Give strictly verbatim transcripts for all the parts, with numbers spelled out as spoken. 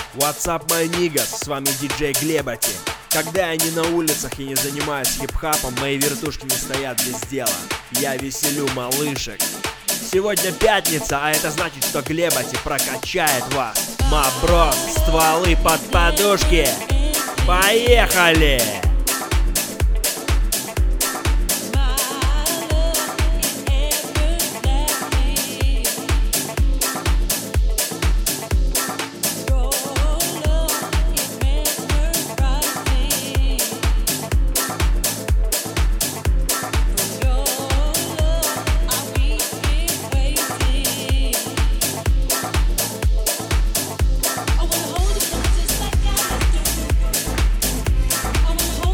What's up, my niggas, с вами диджей Глебати. Когда я не на улицах и не занимаюсь хип-хапом, мои вертушки не стоят без дела. Я веселю малышек. Сегодня пятница, а это значит, что Глебати прокачает вас. Маброс, стволы под подушки. Поехали! I wanna hold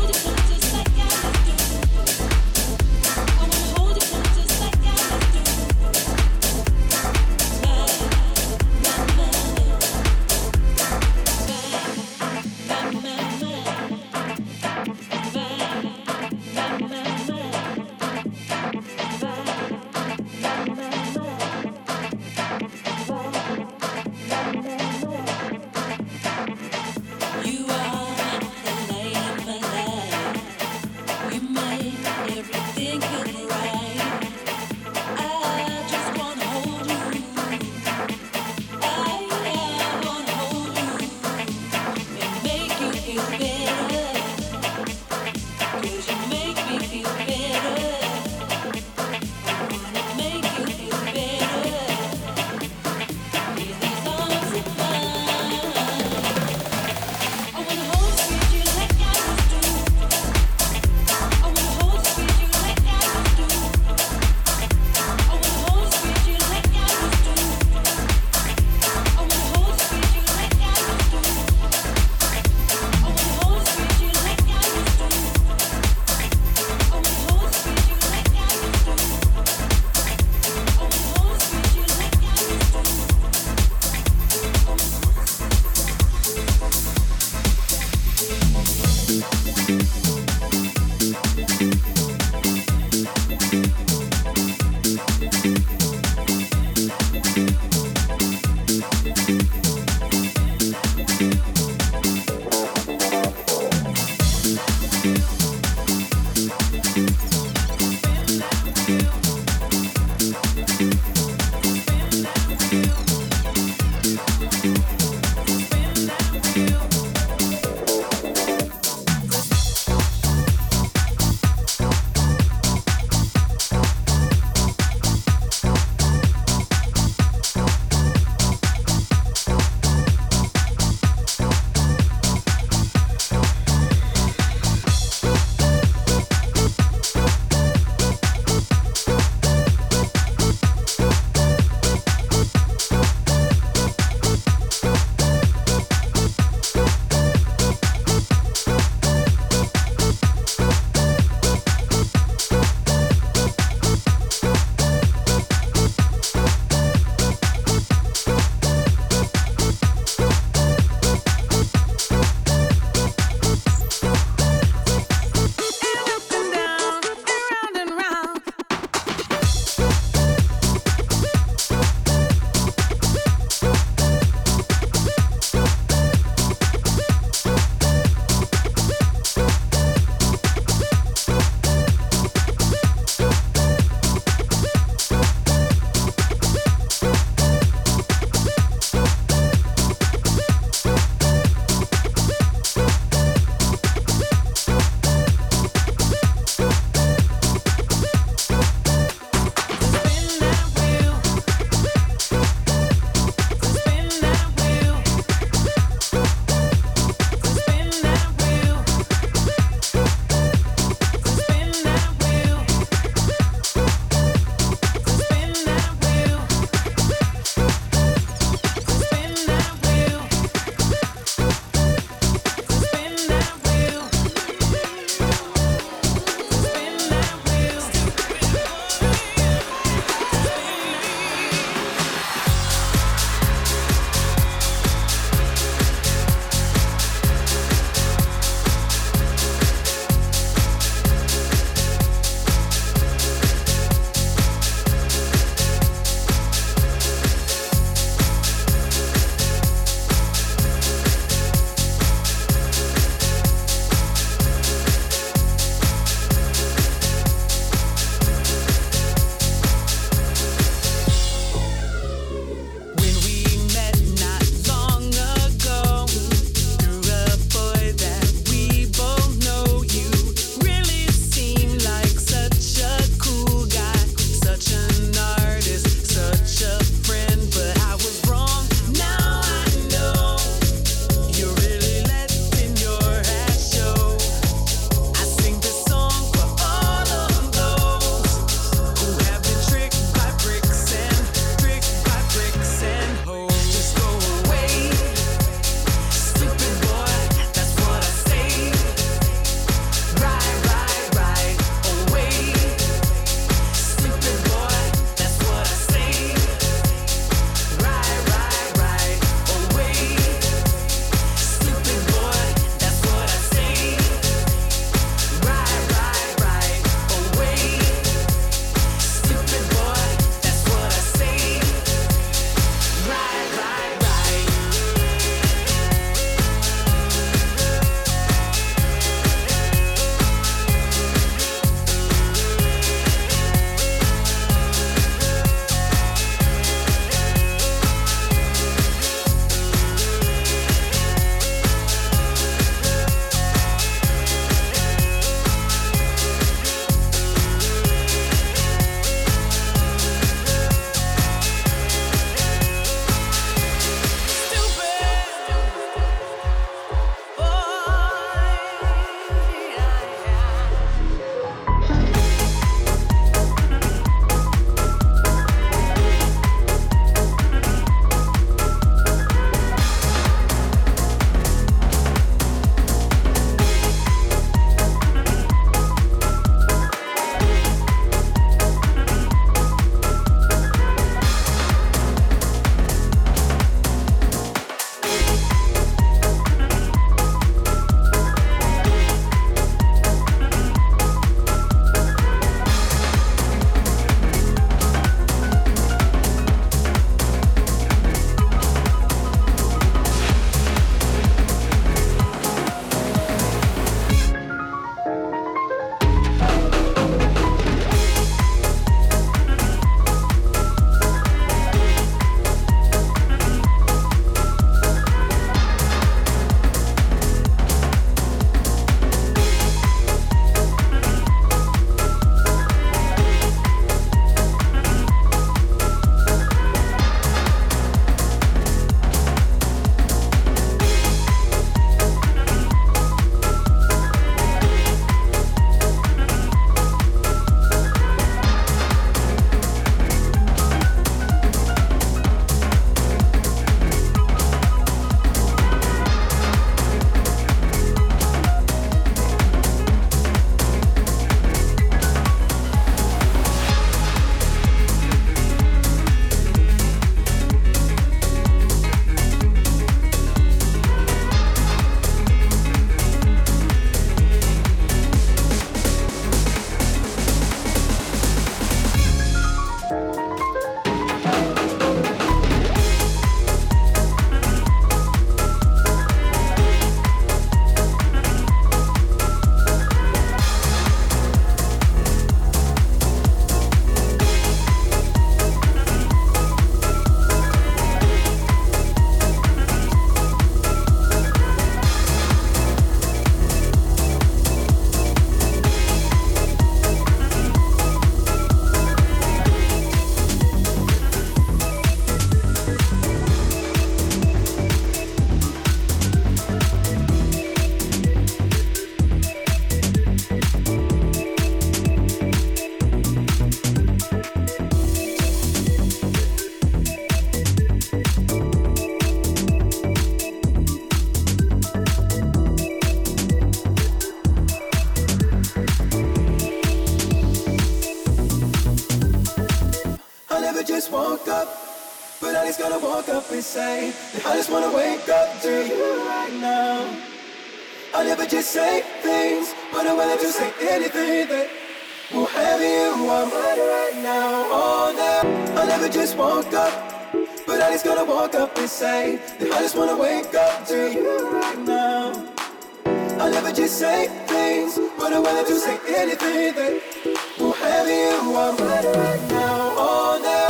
Nobody's gonna walk up and say that I just wanna wake up to you right now. I never just say things, but I'm willing to say anything that will have you on mine right now. Oh, now I never just woke up, but I just gonna walk up and say that I just wanna wake up to you right now. I never just say things, but I'm willing to say anything that will have you on mine right now. Oh, now.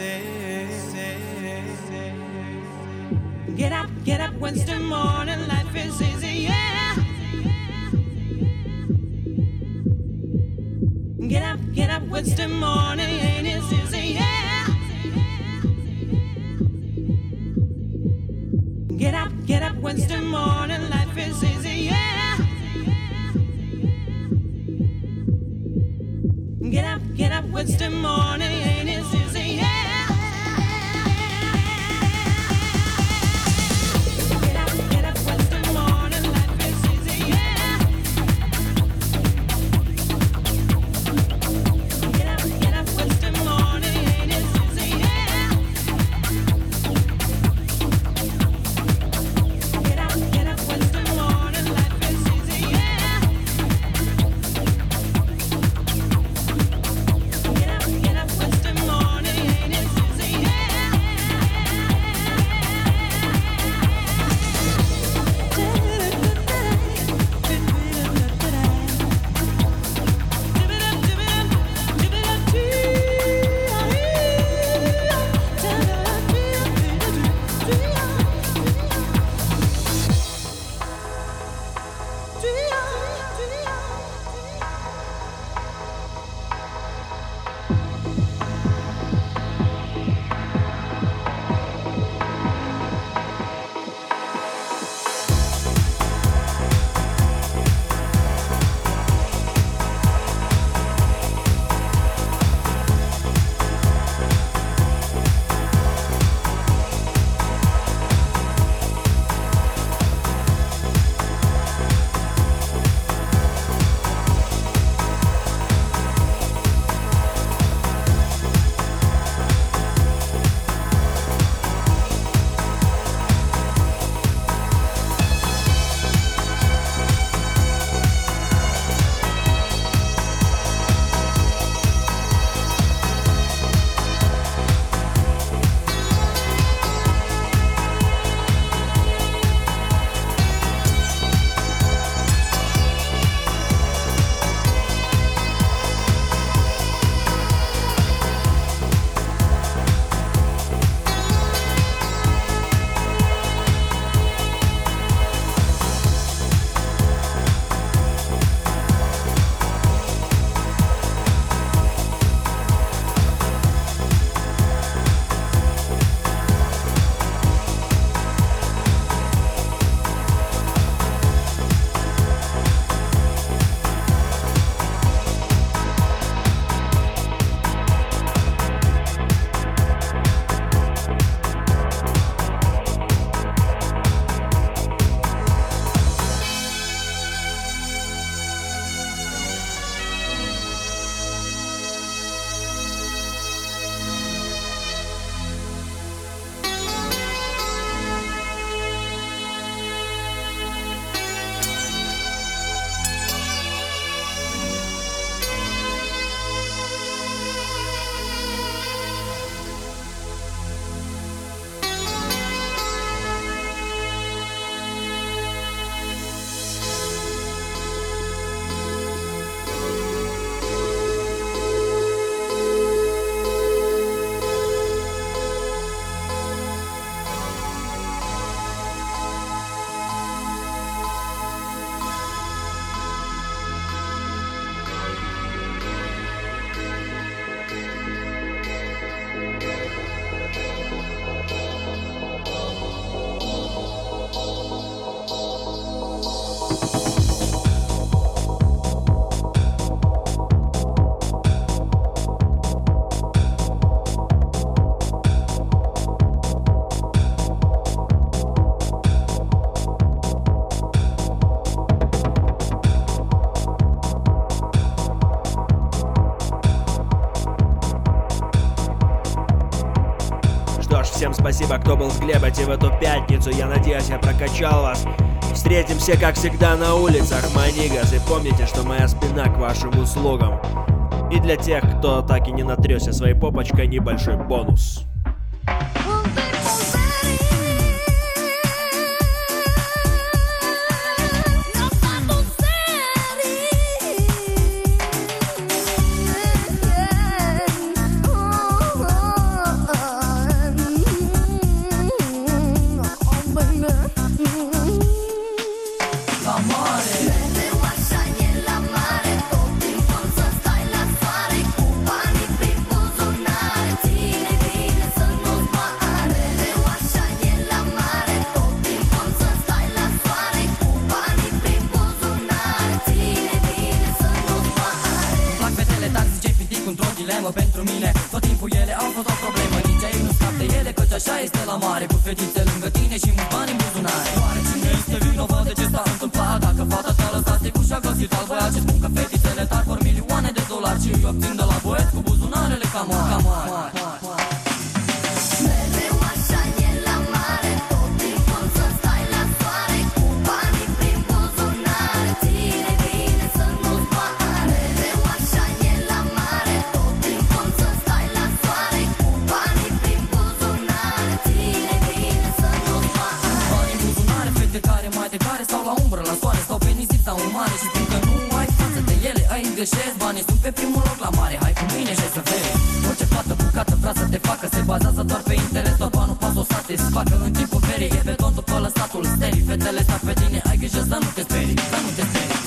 Get up, get up Wednesday morning, life is easy, yeah. Get up, get up Wednesday morning, ain't it easy, yeah. Get up, get up Wednesday morning, life is easy, yeah. Get up, get up Wednesday morning, ain't it easy, yeah. Всем спасибо, кто был с Глебати в эту пятницу. Я надеюсь, я прокачал вас. Встретимся, как всегда, на улицах, манигас. И помните, что моя спина к вашим услугам. И для тех, кто так и не натрёсся своей попочкой, небольшой бонус. Oh așa este la mare, cu fetițe lângă tine și mulți bani în buzunare. Oare cine este vinovat de ce s-a întâmplat? Dacă fata te-a lăsat stricuș și-a găsit alt băiat ce spun că fetițele tari vor milioane de dolari și îi obțin de la băieți cu buzunarele cam mari. Mereu așa e la mare, tot timpul să stai la soare, cu banii prin buzunare, ține bine să nu-ți moară. Mereu așa e la mare, tot timpul să stai la soare, cu banii prin buzunare, ține bine să nu-ți moară. Bani în buzunare, fete care mai de care stau la umbră, la soare, stau pe nisip sau în mare și spun că nu ai față de ele, ai îngreșesc. Banii sunt pe primul loc la mare, hai cu mine și să vezi. Orice fată bucată vrea să te facă, se bazează doar pe interes, doar banul pas o satisfacă. În timpul ferii e beton după lăsatul sterii, fetele stau pe tine, ai grijă să nu te sperii, să nu te sperii.